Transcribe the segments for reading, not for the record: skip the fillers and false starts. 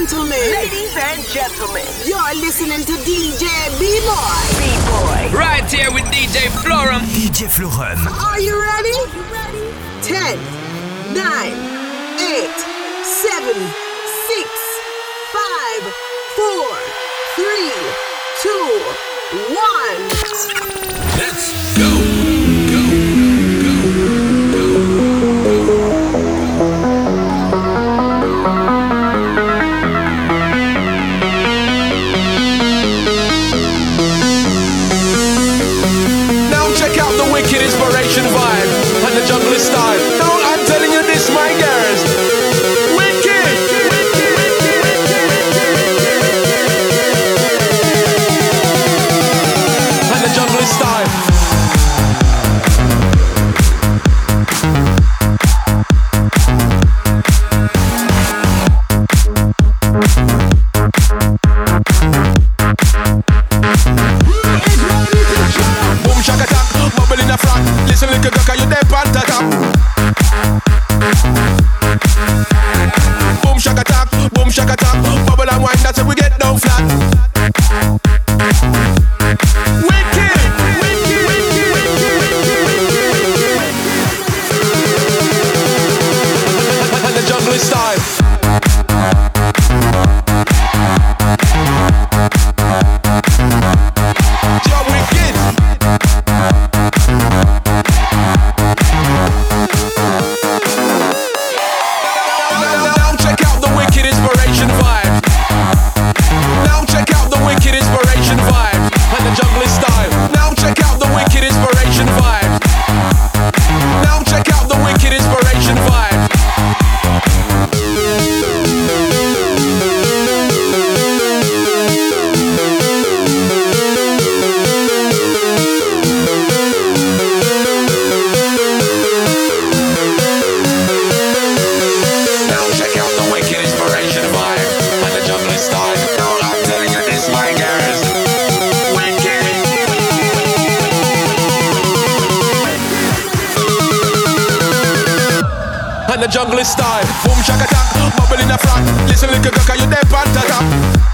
gentlemen, you're listening to DJ B-Boy. B-Boy. Right here with DJ Florum. DJ Florum. Are you ready? 10, 9, 8, 7, 6, 5, 4, 3, 2, 1. Let's go. Wicked inspiration vibe and the jungle style. No, I'm telling you this, my girls. Wicked. And the jungle style. Boom shaka attack, bubble in a frock. Listen, little girl, 'cause you there on the top. Boom shaka attack, bubble and wine. That's how we get down flat. Wicked. And the jungle style. The jungle style. Boom shaka attack, bubble in a frock. Listen, little girl, 'cause you there on the top.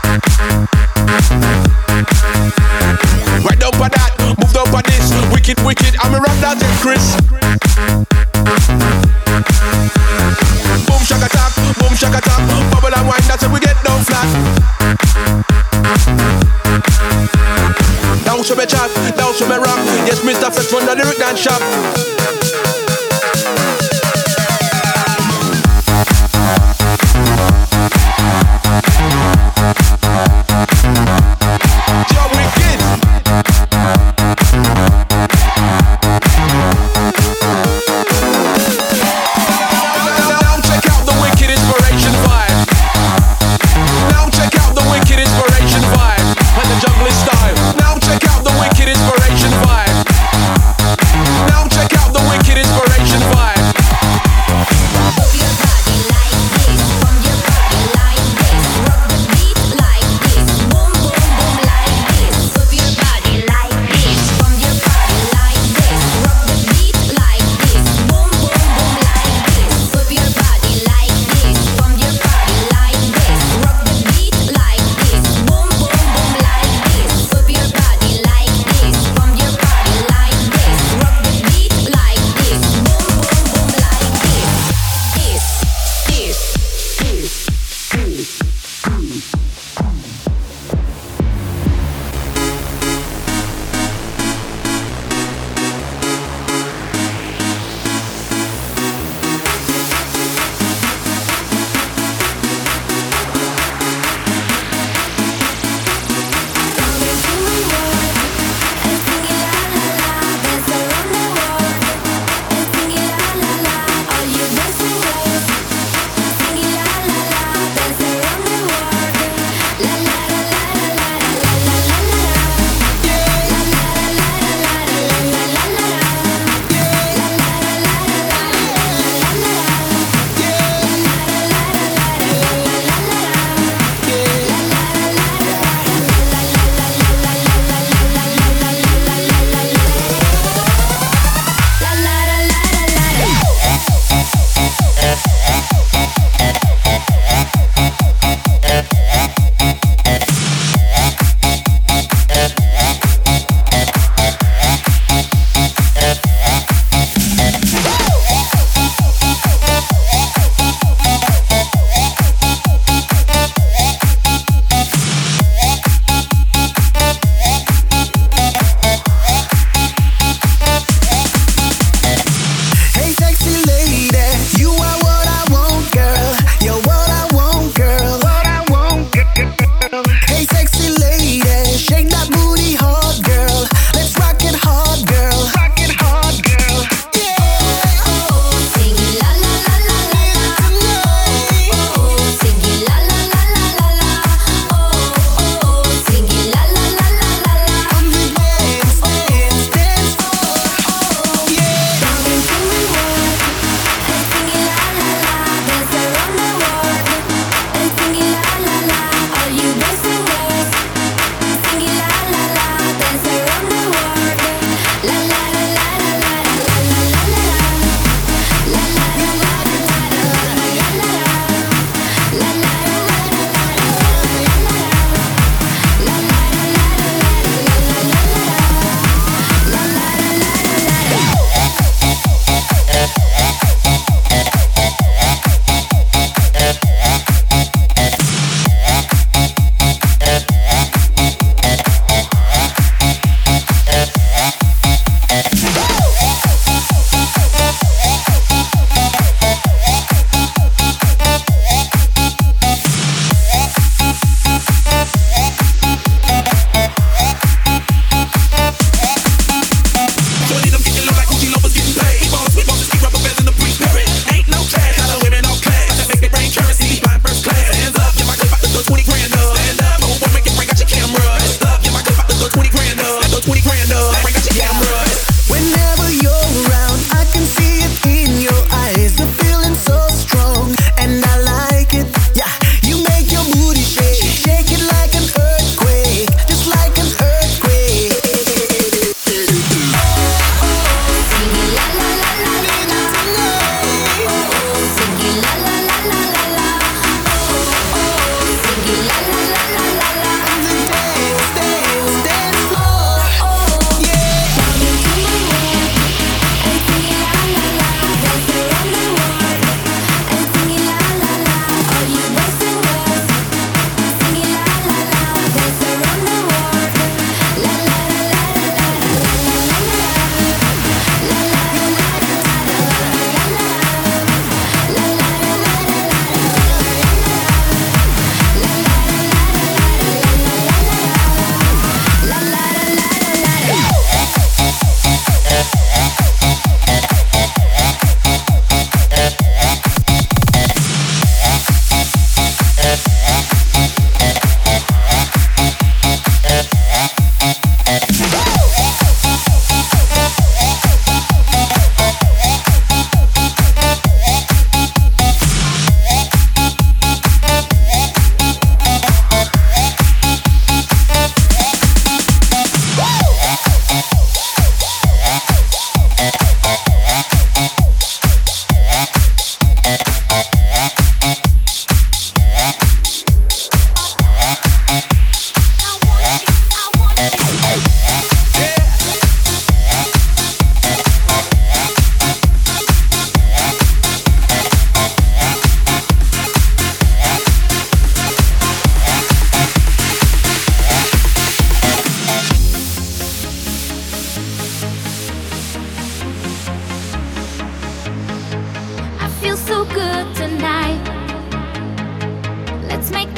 Right down for that, move down for this. Wicked, I'm a rock that Chris. Boom shaka attack, bubble and wine. That's how we get down flat. Down to me chat, down to me rock. Yes, Mr. Fresh from the lyric dance shop. Now check out the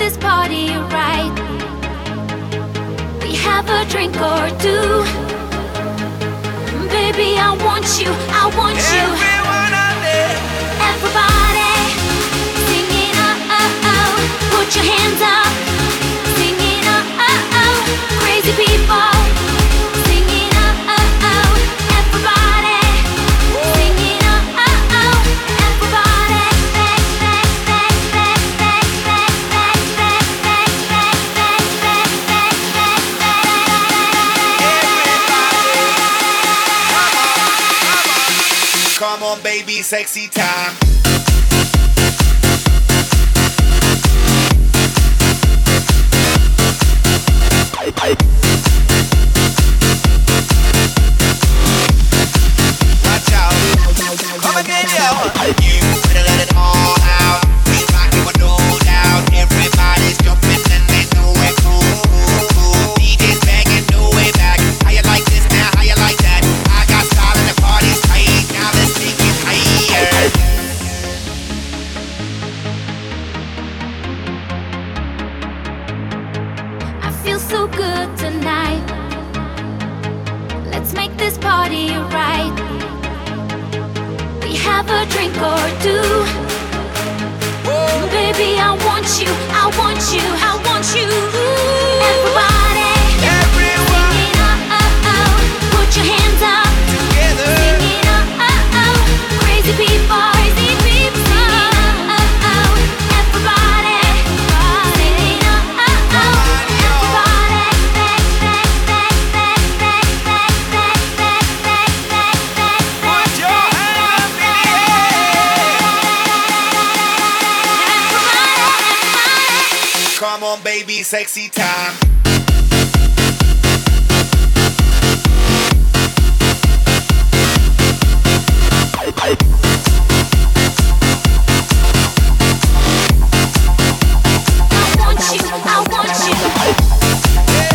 this party right. We have a drink or two. Baby, I want you, I want you. Everyone out there. Everybody singing oh oh oh. Put your hands up. Singing oh oh oh. Crazy people singing oh oh oh. Everybody singing oh oh oh. Everybody back back back back back back back back back back back back back back. Come on, baby, sexy time. Watch out. Come again, yo. You better let it all out. We rockin' with no doubt. Everybody's jumping and they know it cool. DJ's banging, no way back. How you like this now? How you like that? I got style and the party's tight. Now let's take it higher. I feel so good tonight. Let's make this party right. We have a drink or two. Baby, I want you, I want you, I want you. Everybody, singing oh oh oh. Put your hands up. Singing oh oh oh. Crazy people, singing oh oh oh. Everybody, singing oh oh oh. Everybody, back back back back back back back back back back back. Put your hands up in the air. Come on, baby, sexy time. I want you, I want you.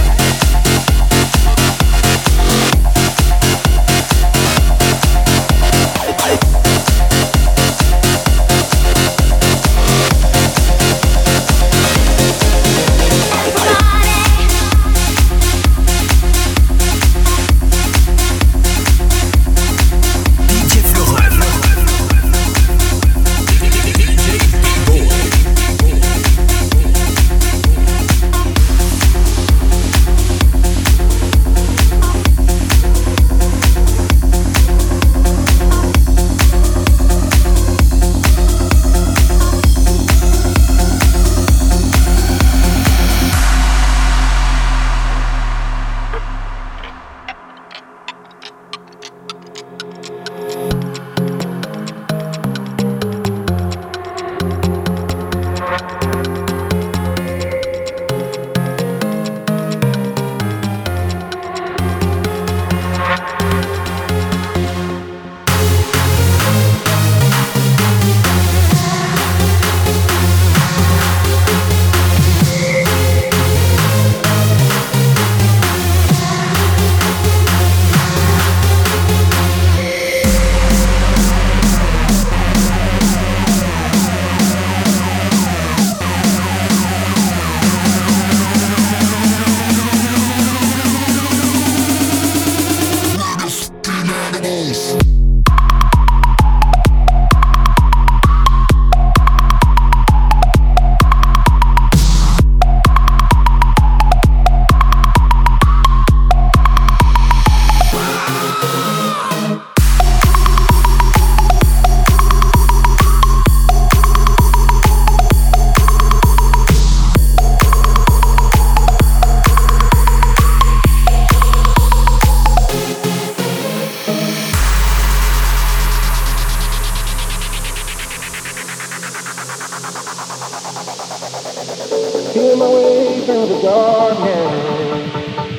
Feeling my way through the darkness,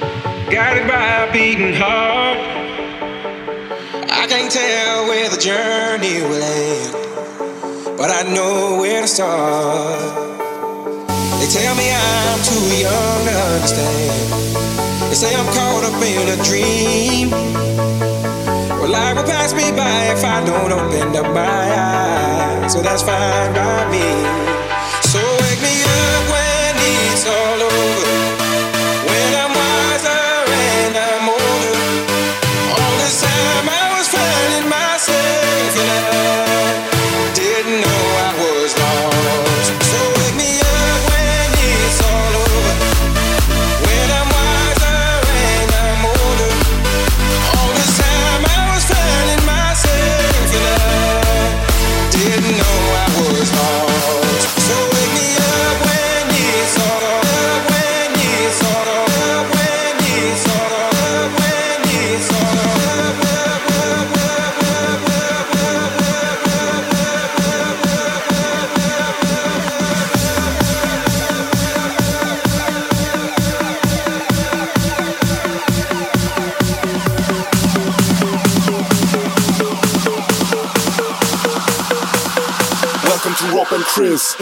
guided by a beating heart. I can't tell where the journey will end, but I know where to start. They tell me I'm too young to understand. They say I'm caught up in a dream. Well, life will pass me by if I don't open up my eyes, so that's fine by me. So wake me up when Chris.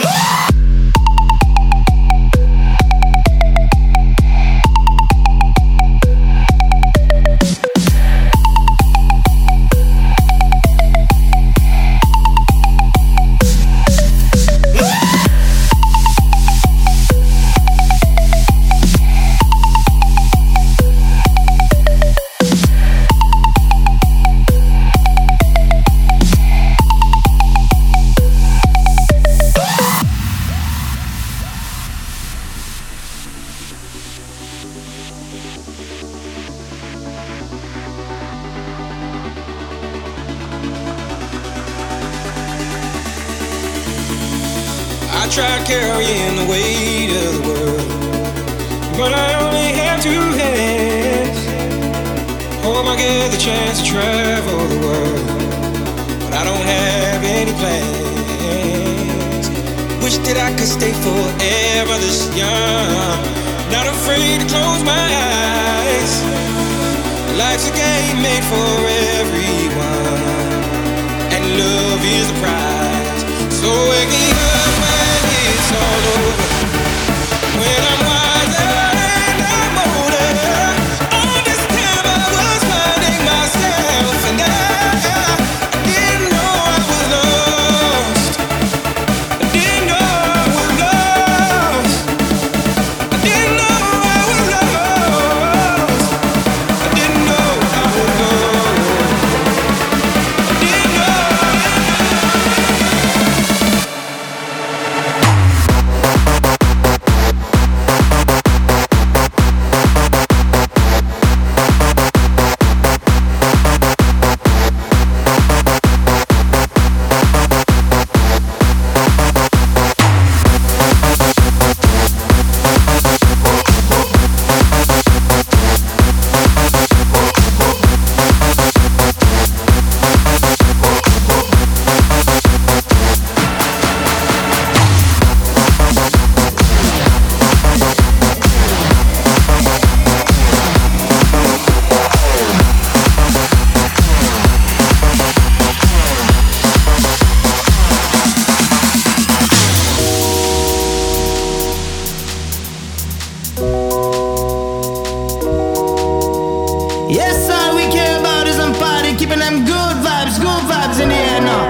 I tried carrying the weight of the world, but I only have two hands. Hope I get the chance to travel the world, but I don't have any plans. Wish that I could stay forever this young, not afraid to close my eyes. Life's a game made for everyone, and love is the prize. So wake me up when it's all over, when I'm wiser and I'm older. All this time I was finding myself, and I didn't know I was lost. I didn't know I was lost. I didn't know I was lost. I didn't know I was lost. I didn't know. Yes, all we care about is them party, keeping them good vibes in the air now.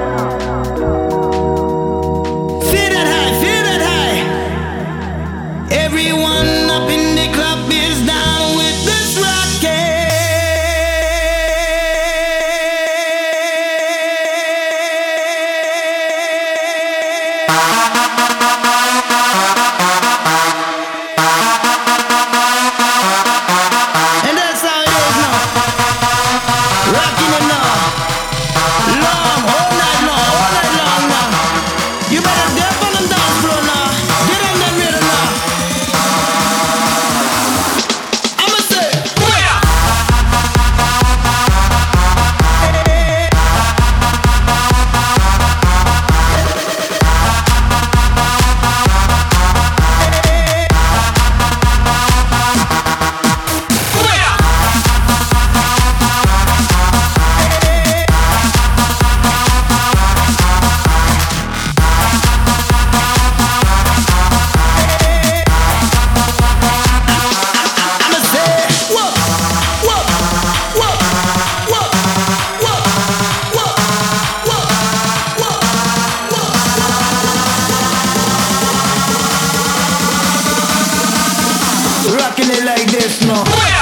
Feel that high. Everyone up in the club is down with this rocket. And that's how it is now. Rocking it now. Long, all night long now. You better dip on them dance floor now. Get on that rhythm now. I'ma say, booyah! I'ma say, whoa, whoa, whoa, whoa, whoa, whoa, whoa. Rocking it like this now.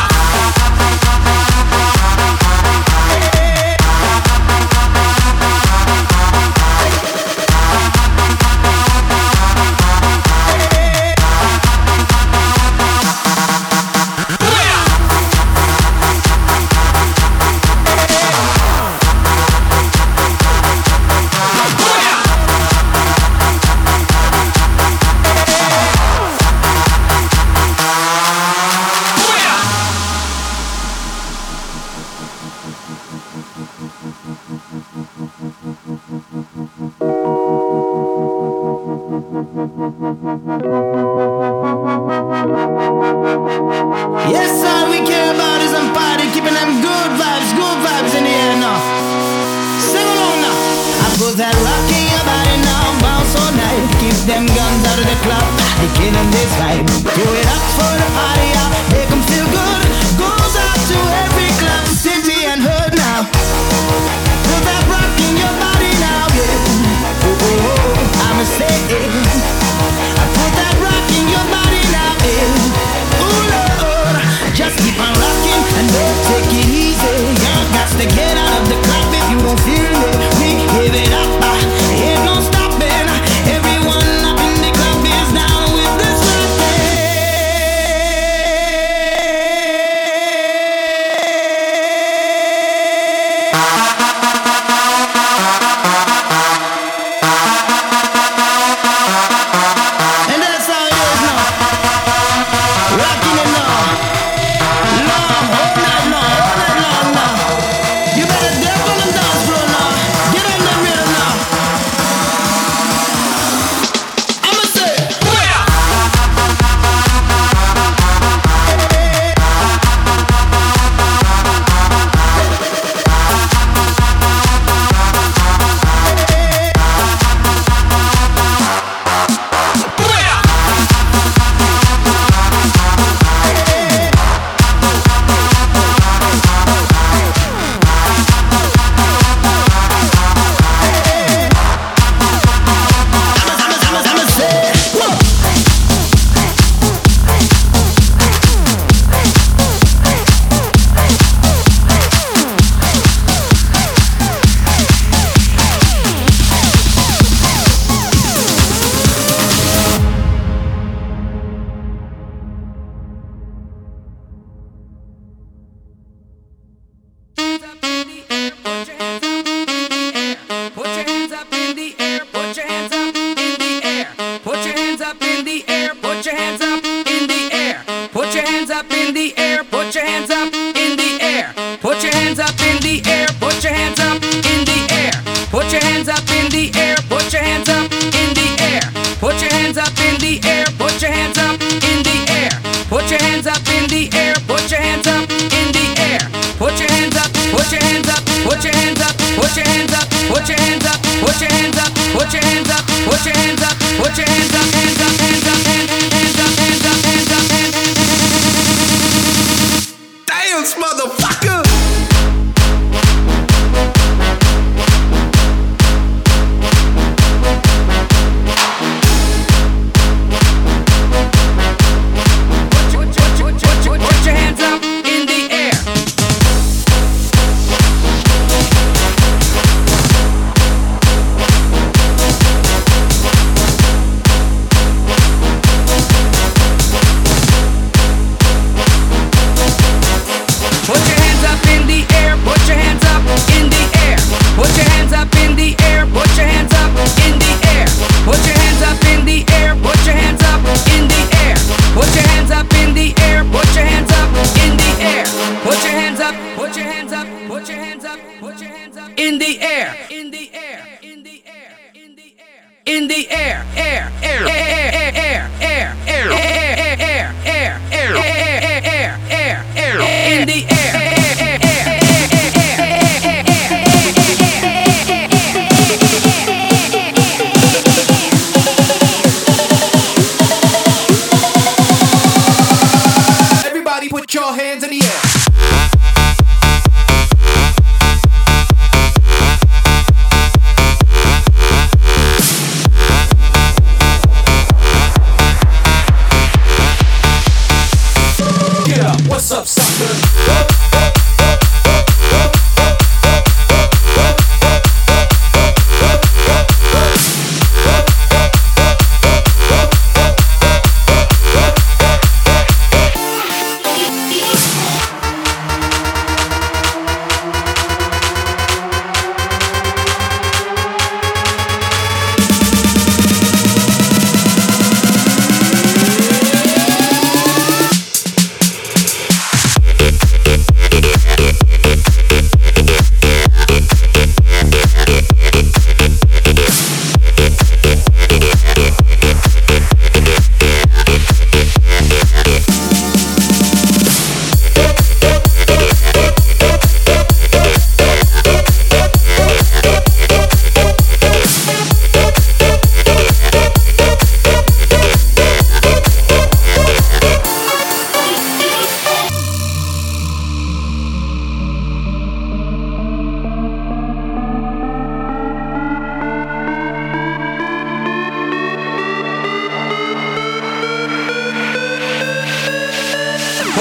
Yes, all we care about is them party, keeping them good vibes in the air now. Sing along now. I put that rock in your body now, bounce on Take them guns out of the club, they killing this vibe. Throw it up for the party, yeah. Make them feel good. Goes out to every club, city and hood now. Put that rock in your body now, yeah. Oh, oh, oh, I'ma say it. I put that rock in your body now, yeah. Ooh, Lord, just keep on rocking and don't take it easy. You got to get out of the club if you don't feel it. We give it up, ain't no stopping. Everyone up in the club is down with this and that's how it is now. Rocking it now. Long, all night long now. You better dance on the dance floor now. Get on the rhythm now. I'ma say, I'ma say, whoa. Dance, motherfucker! Put your hands up in the air.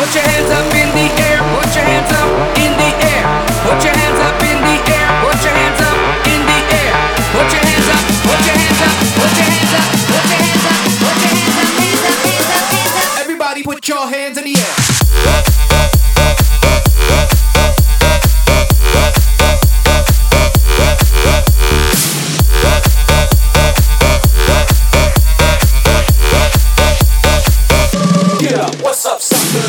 Put your hands up in the air. Put your hands up in the air. Put your hands up in the air. Put your hands up in the air. Put your hands up. Put your hands up. Put your hands up. Put your hands up. Put your hands up. Hands up. Hands up. Hands up. Everybody, put your hands in the air. What's up, sucker?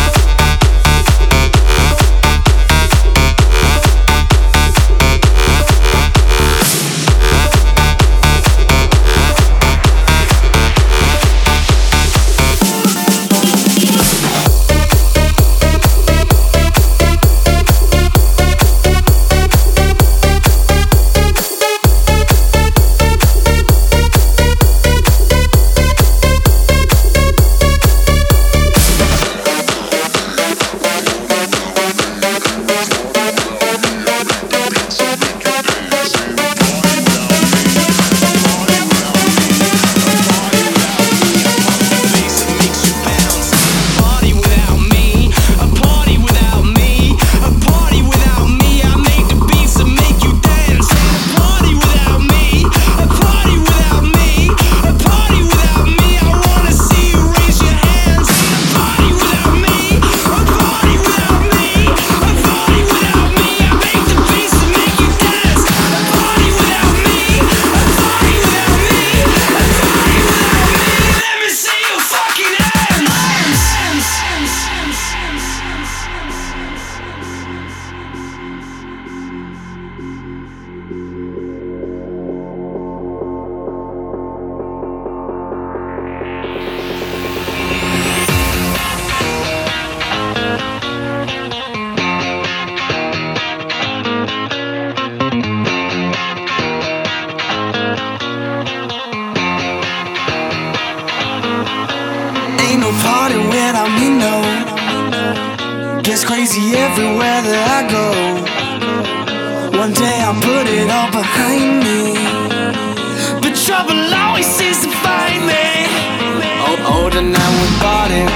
Crazy everywhere that I go. One day I'll put it all behind me, but trouble always seems to find me. Older now we bought it.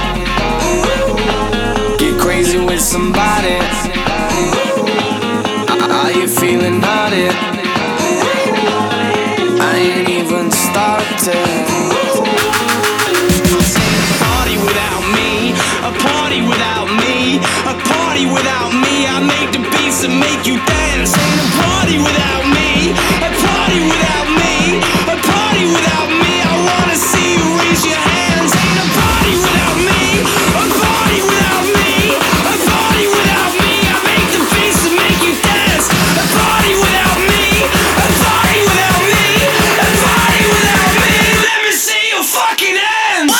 Get crazy with somebody. Are you feeling naughty? I ain't even started. Party without me, a party without me, a party without me. I make the beats that make you dance. Ain't a party without me, a party without me, a party without me. I wanna see you raise your hands. Ain't a party without me, a party without me, a party without me. I make the beats that make you dance. A party without me, a party without me, a party without me. Let me see your fucking hands.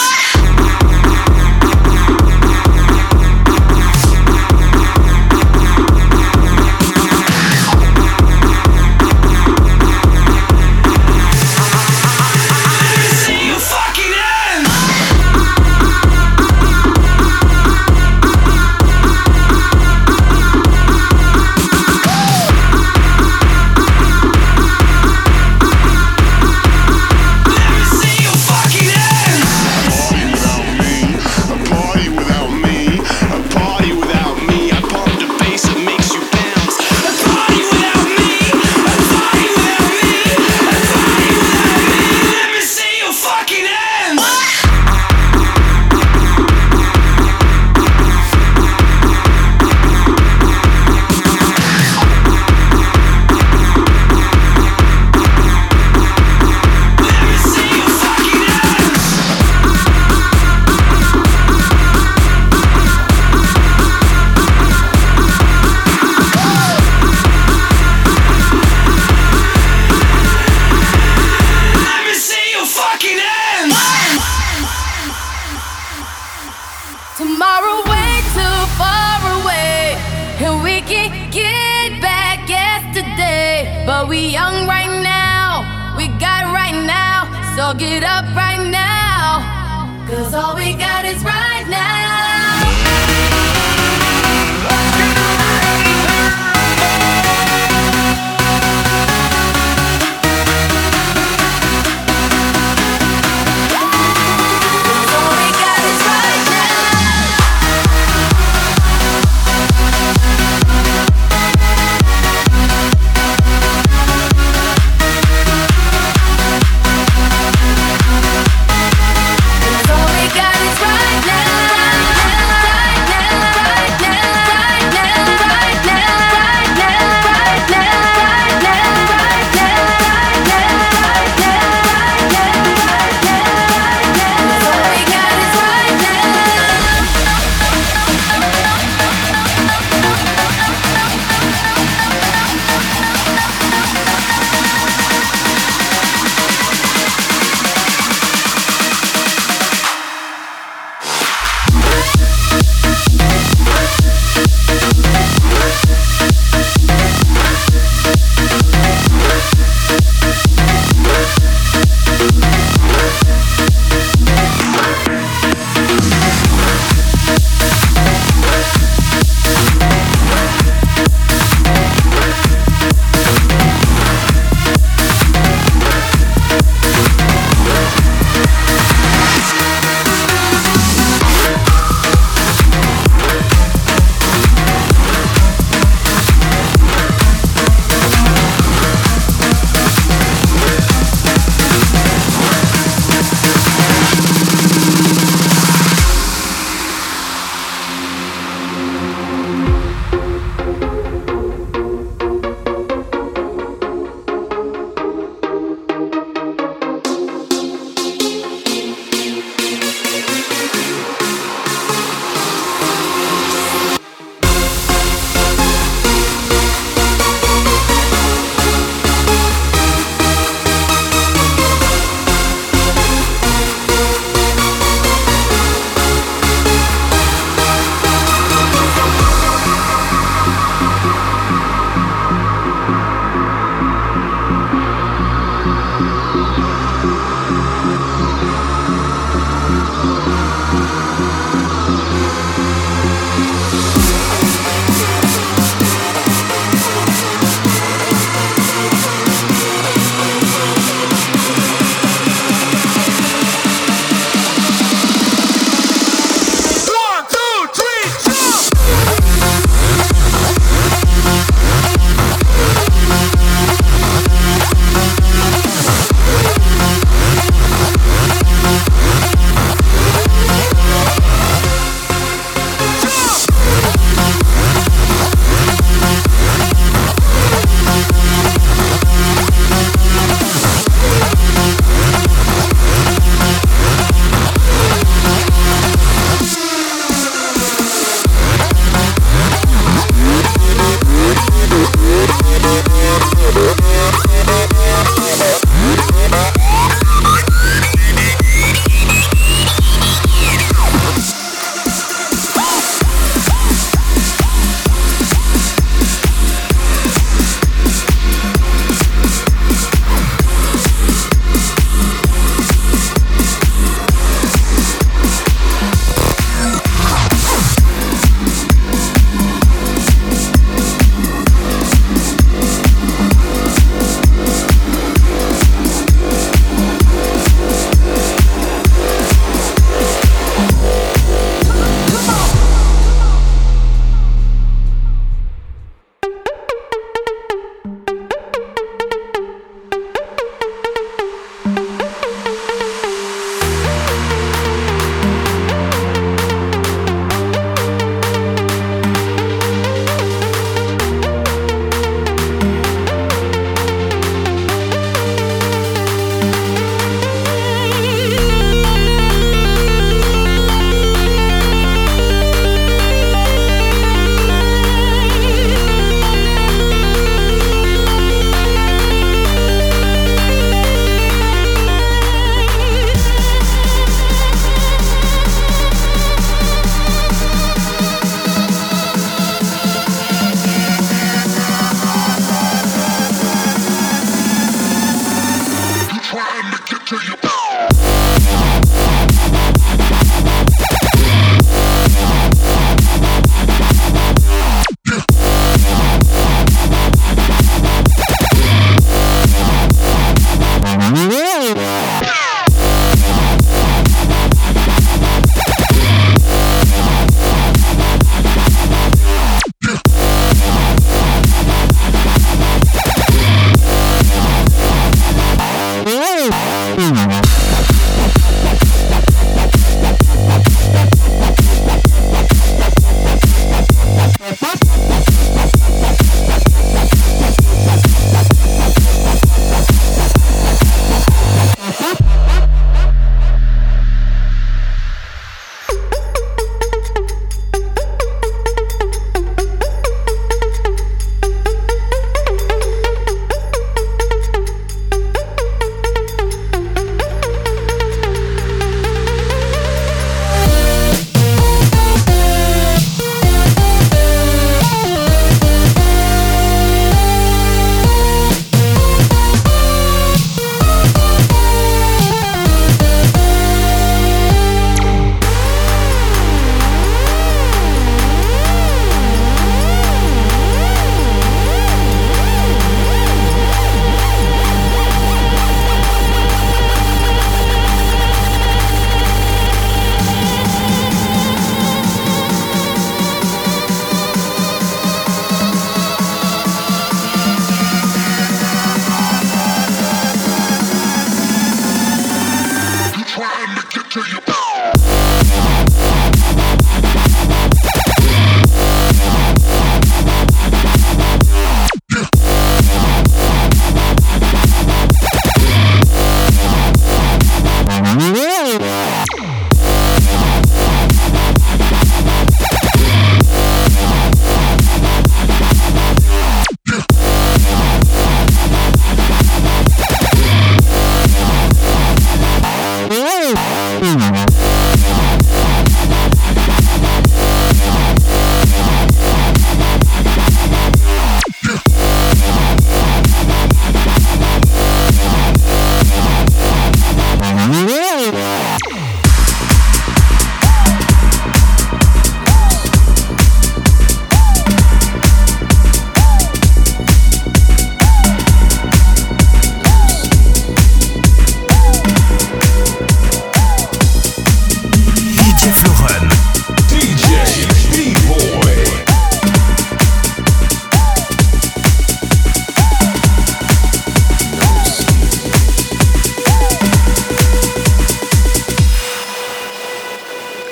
Tomorrow way too far away, and we can get back yesterday. But we young right now, we got right now, so get up right now, 'cause all we got is right now.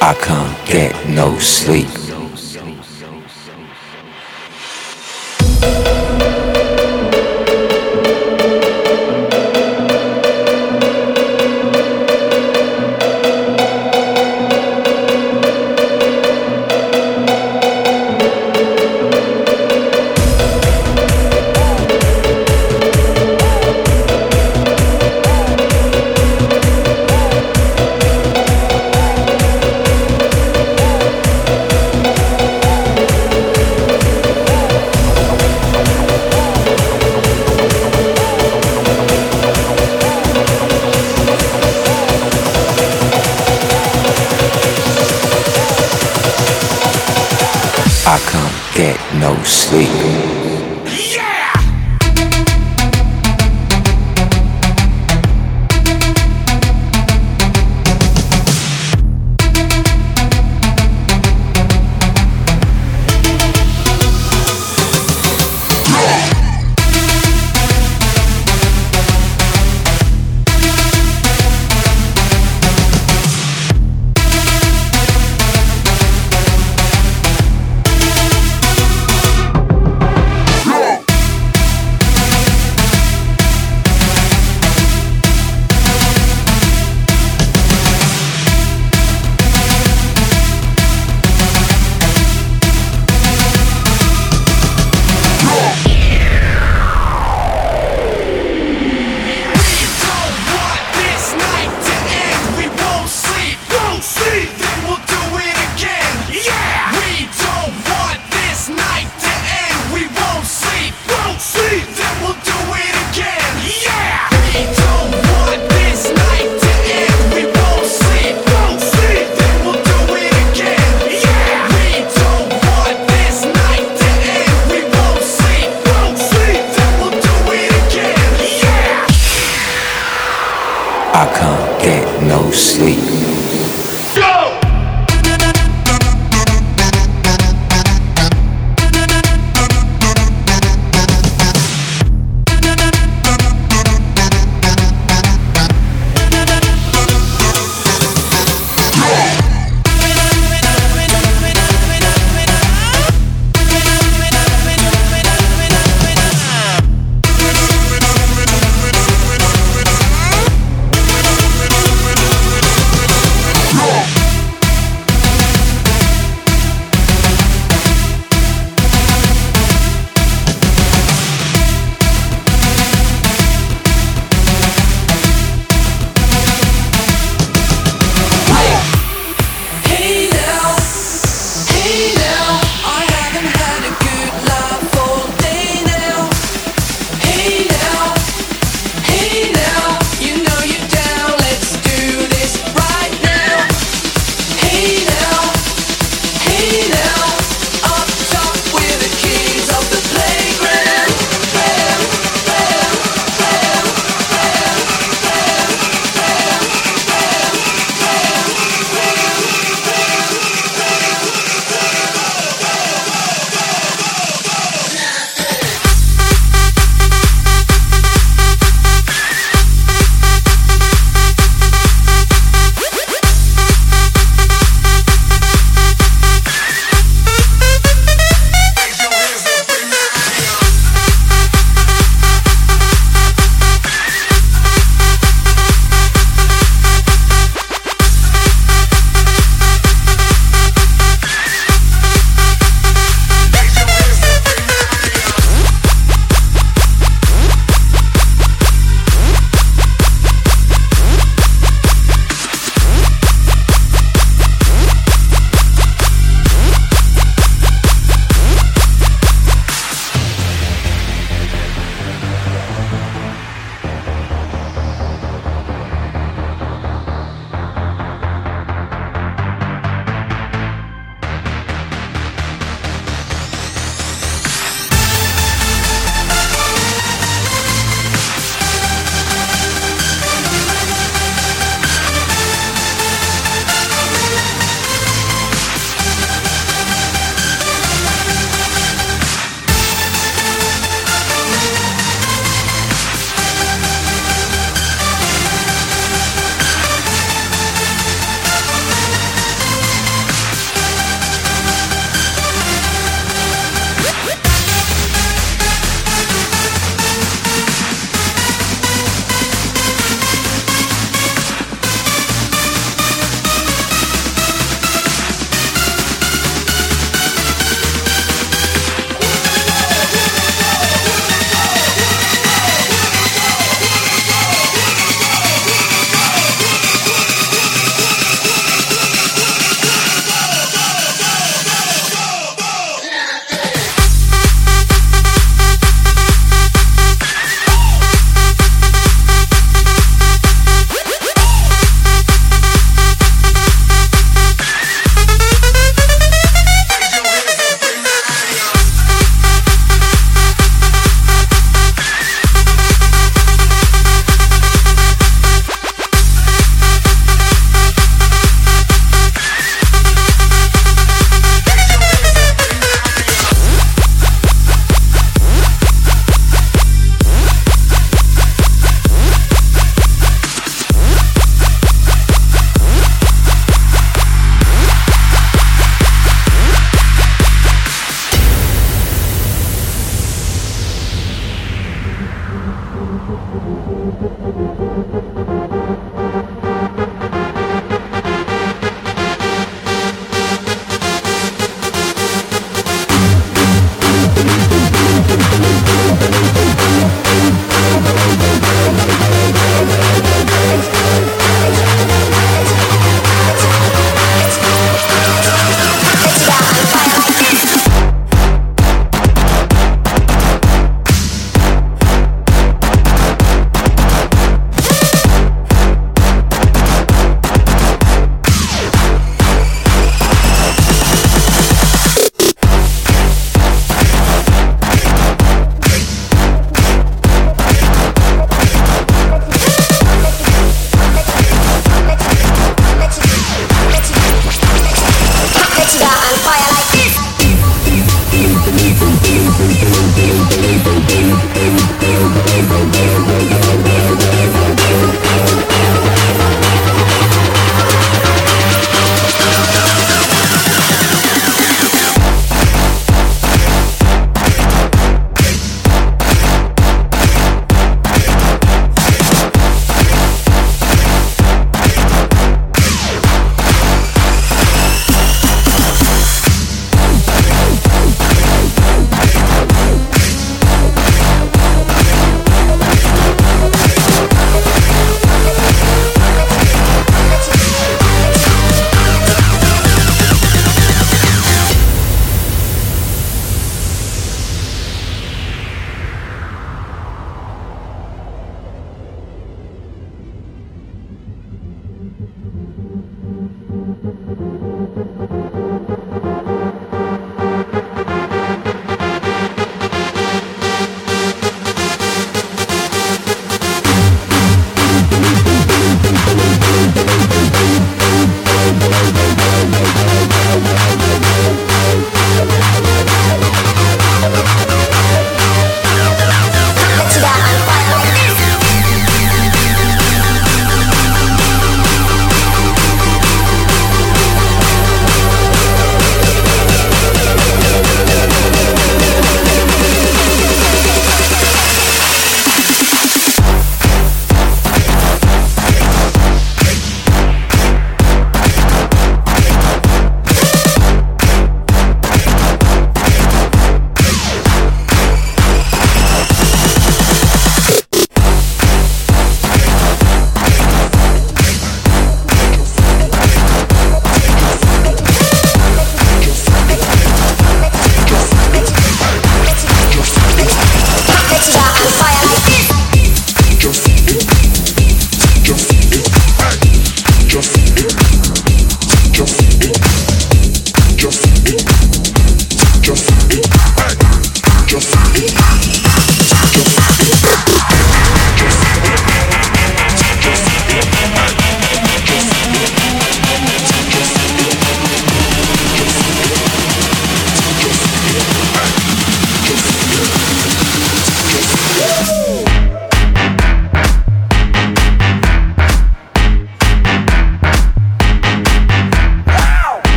I can't get no sleep. I can't get no sleep.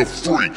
a freak.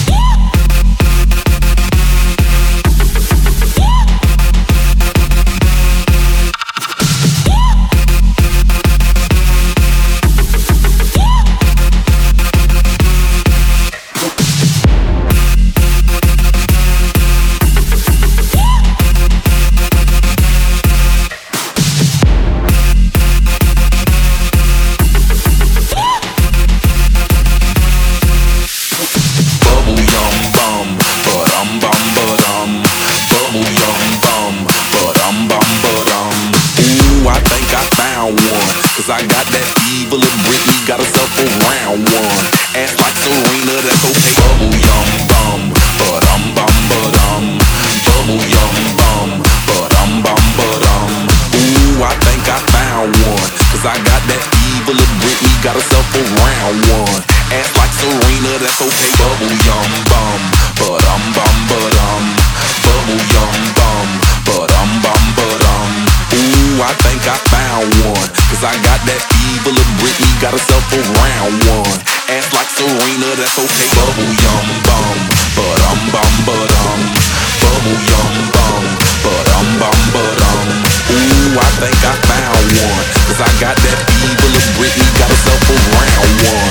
I got that evil and Britney got herself a round one. Ass like Serena, that's okay. Bubble yum bum, but bum. Bubble yum bum, but bum. Ooh, I think I found one. Cause I got that evil and Britney got herself a round one. Ass like Serena, that's okay. Bubble yum bum, but bum. Bubble yum bum, but bum. Ooh, I think I found one. Cause I got that evil and Britney got herself a round one. Ass like Serena, that's okay. Bubble yum bum, but bum. Bubble yum bum, but bum. Ooh, I think I found one. Cause I got that evil and Britney got herself a round one.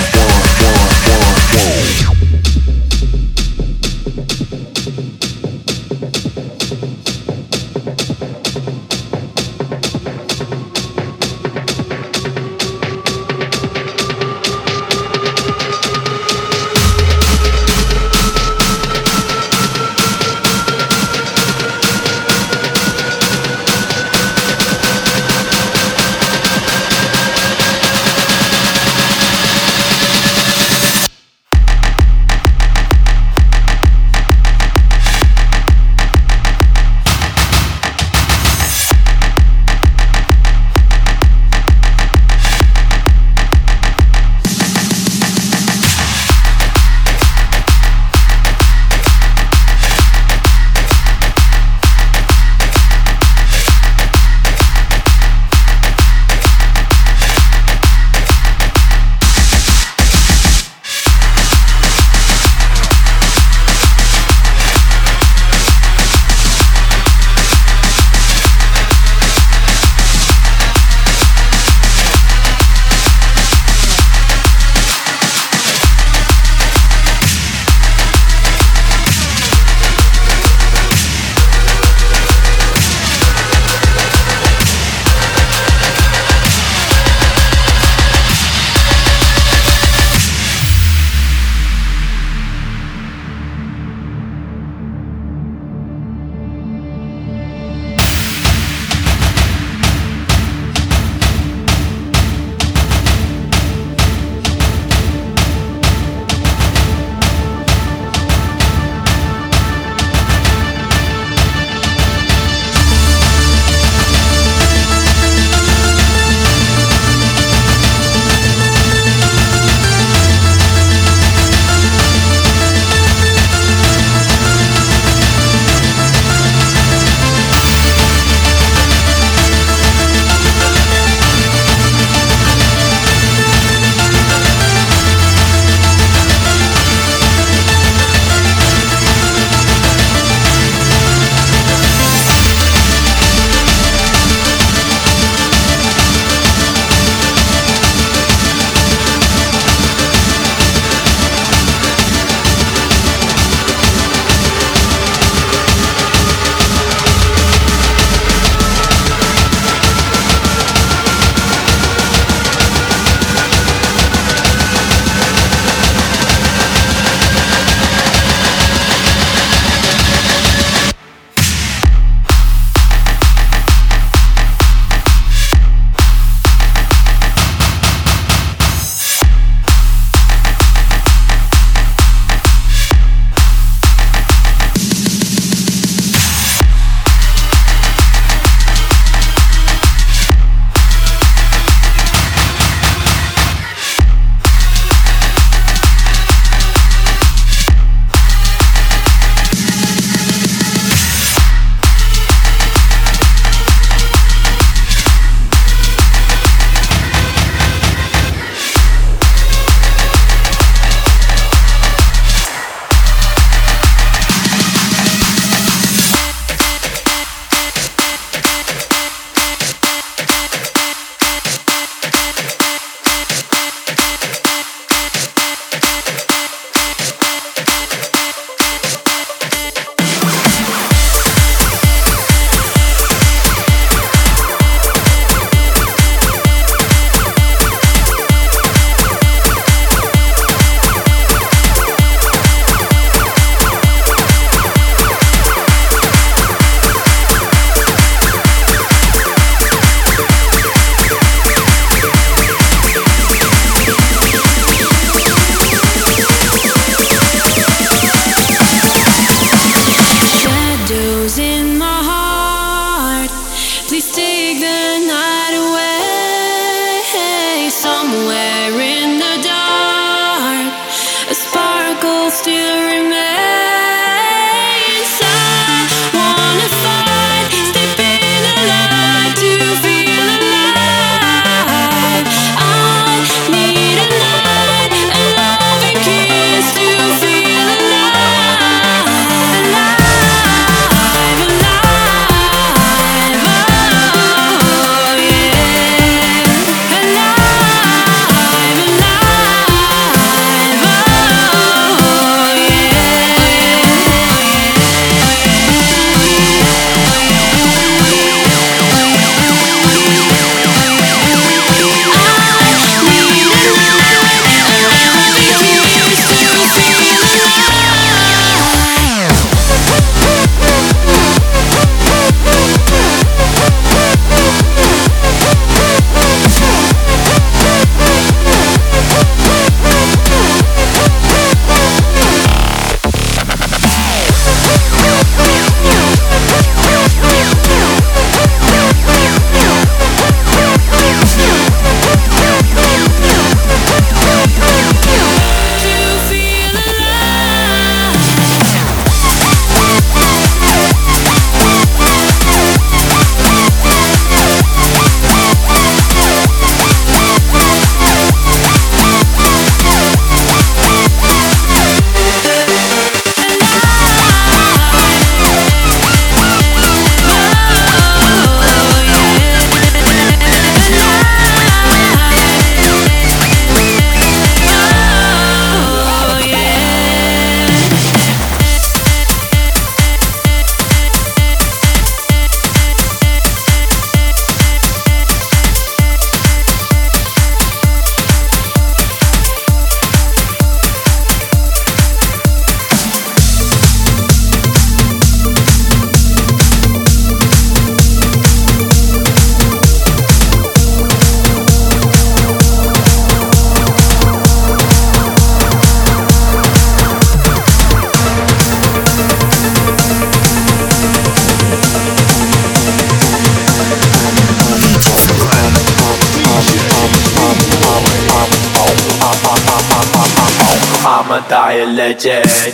I'ma die a legend.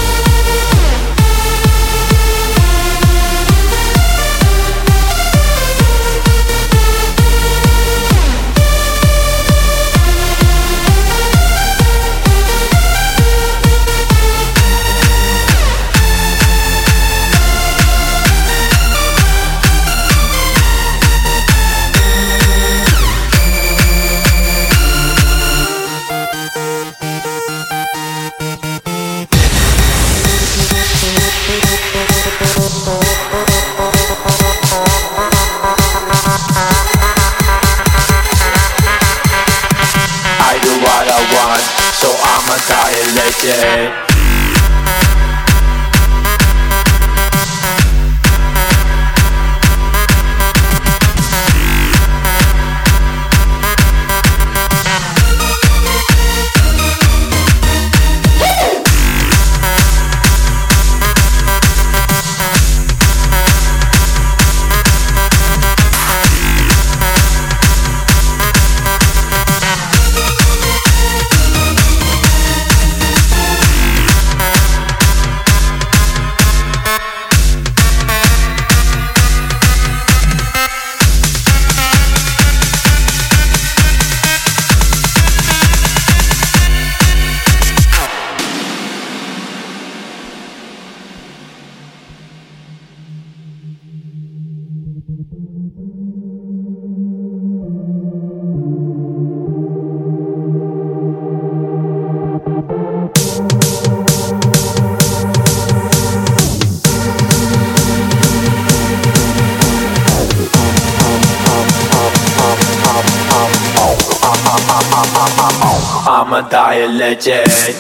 So I'ma die a legend. I'ma die a legend.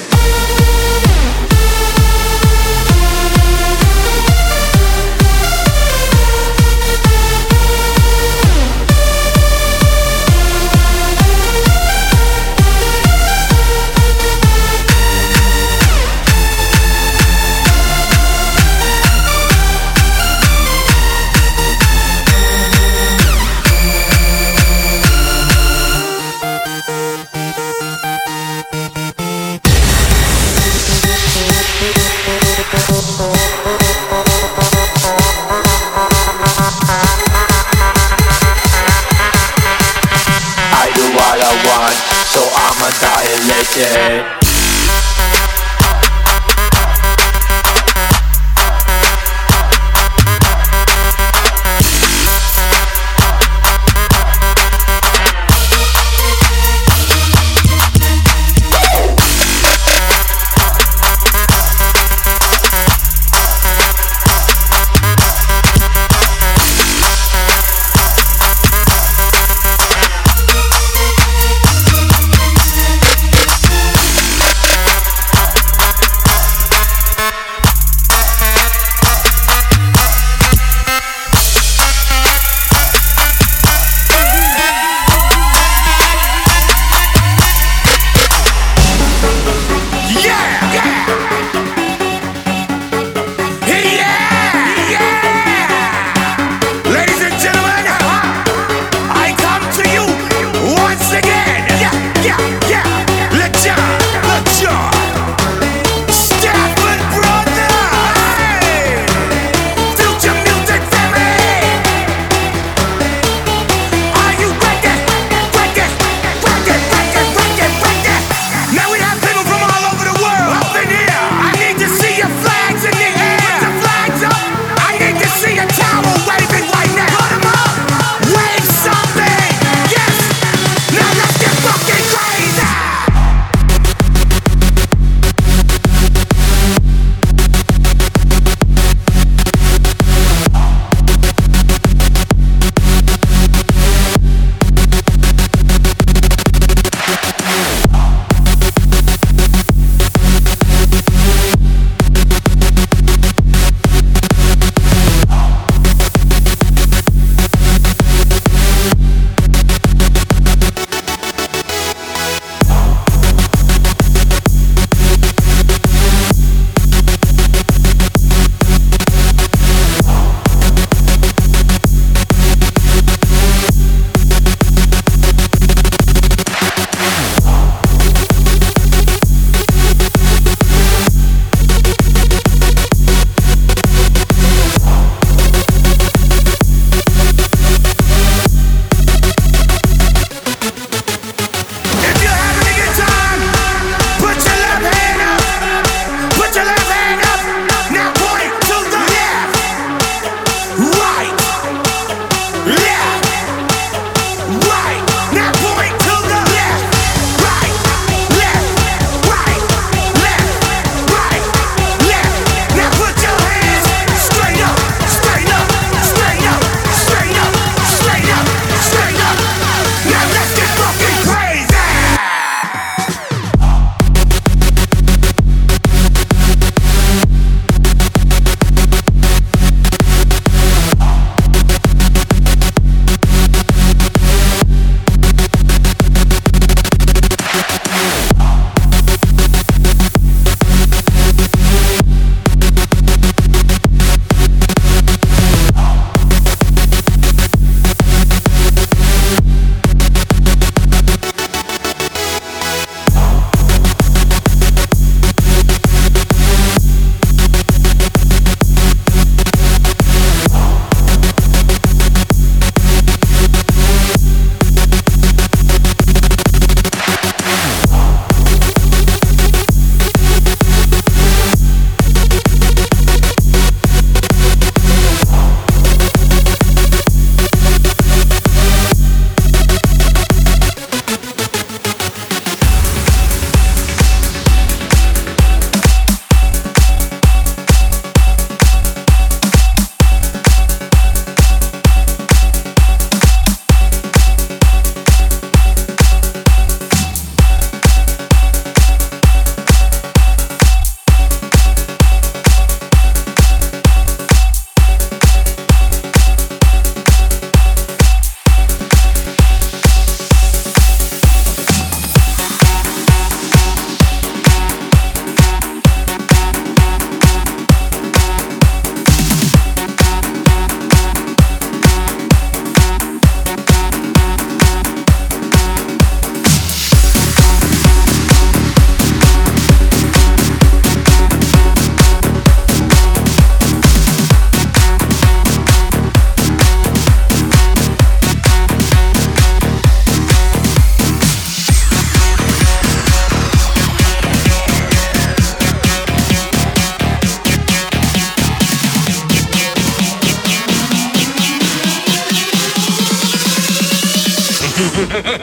So I'ma die a legend.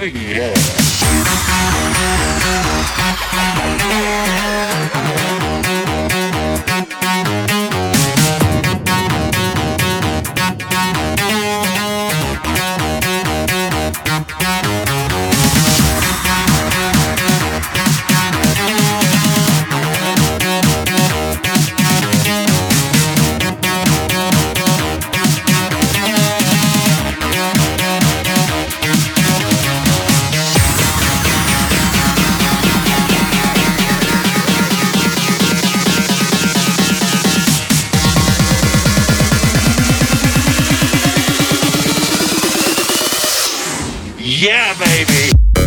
Yeah, baby.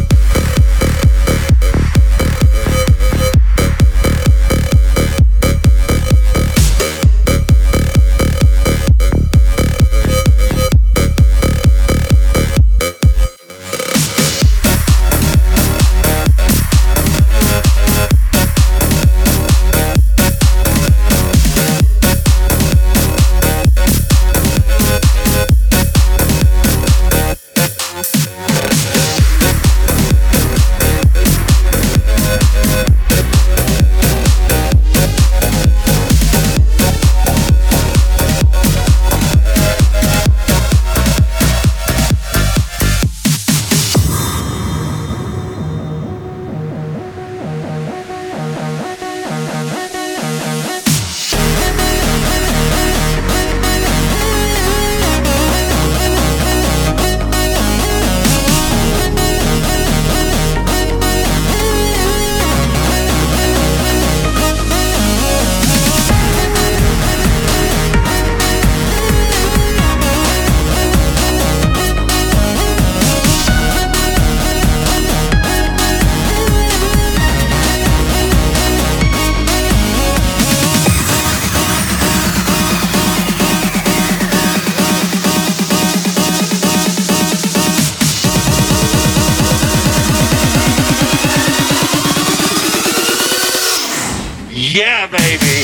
Yeah, baby.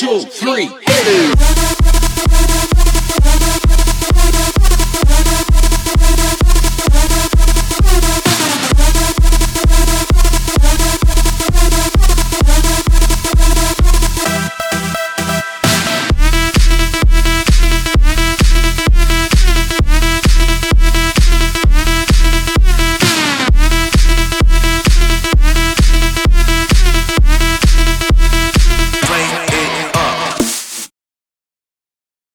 2, 3, hit it.